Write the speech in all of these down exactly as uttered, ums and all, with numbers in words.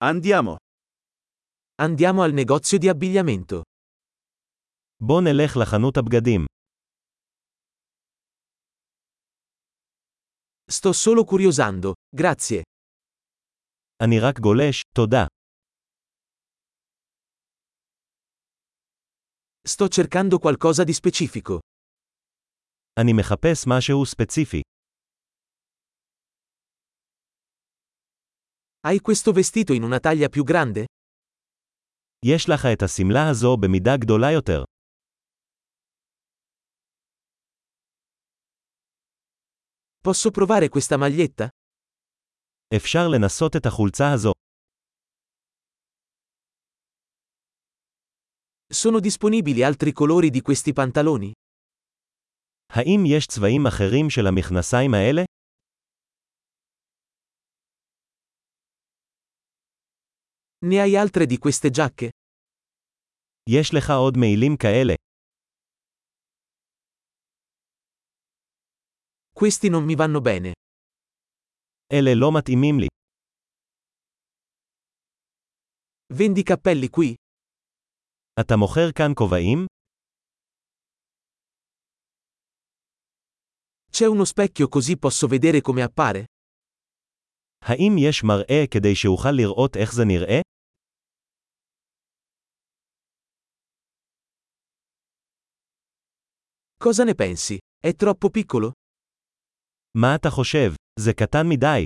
Andiamo. Andiamo al negozio di abbigliamento. בוא נלך לחנות הבגדים. Sto solo curiosando, grazie. אני רק גולש, תודה. Sto cercando qualcosa di specifico. אני מחפש משהו ספציפי. Hai questo vestito in una taglia più grande? יש לך את השמלה הזו במידה גדולה יותר. Posso provare questa maglietta? אפשר לנסות את החולצה הזו. Sono disponibili altri colori di questi pantaloni? האם יש צבעים אחרים של המכנסיים האלה? Ne hai altre di queste giacche? יש לך עוד מעילים כאלה. Questi non mi vanno bene. אלה לא מתאימים לי. Vendi cappelli qui? אתה מוכר כאן כובעים? C'è uno specchio così posso vedere come appare? האם יש מראה כדי שאוכל לראות איך זה נראה? Cosa ne pensi? È troppo piccolo? מה אתה חושב? זה קטן מדי.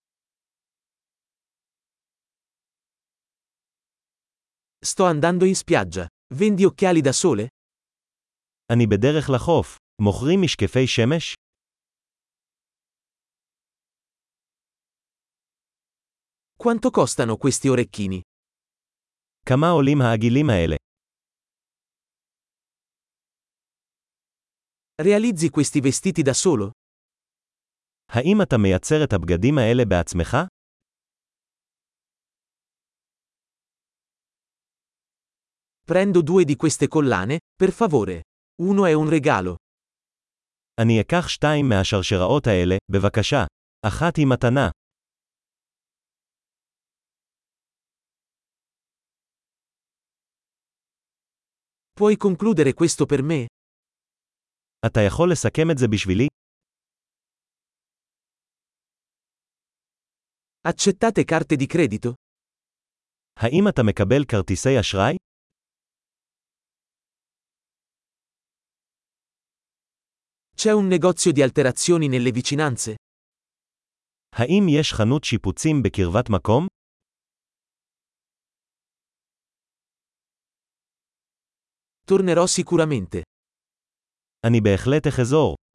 Sto andando in spiaggia. Vendi occhiali da sole? אני בדרך לחוף. מוכרים משקפי שמש? Quanto costano questi orecchini? כמה עולים העגילים האלה? Realizzi questi vestiti da solo? האם אתה מייצר את הבגדים האלה בעצמך? Prendo due di queste collane, per favore. Uno è un regalo. אני אקח שתיים מהשרשראות האלה, בבקשה. אחת היא מתנה. Puoi concludere questo per me? אתה יכול לסכם את זה בשבילי? Accettate carte di credito? האם אתה מקבל כרטיסי אשראי? C'è un negozio di alterazioni nelle vicinanze? האם יש חנות שיפוצים בקרבת מקום? Tornerò sicuramente. אני בהחלט אחזור.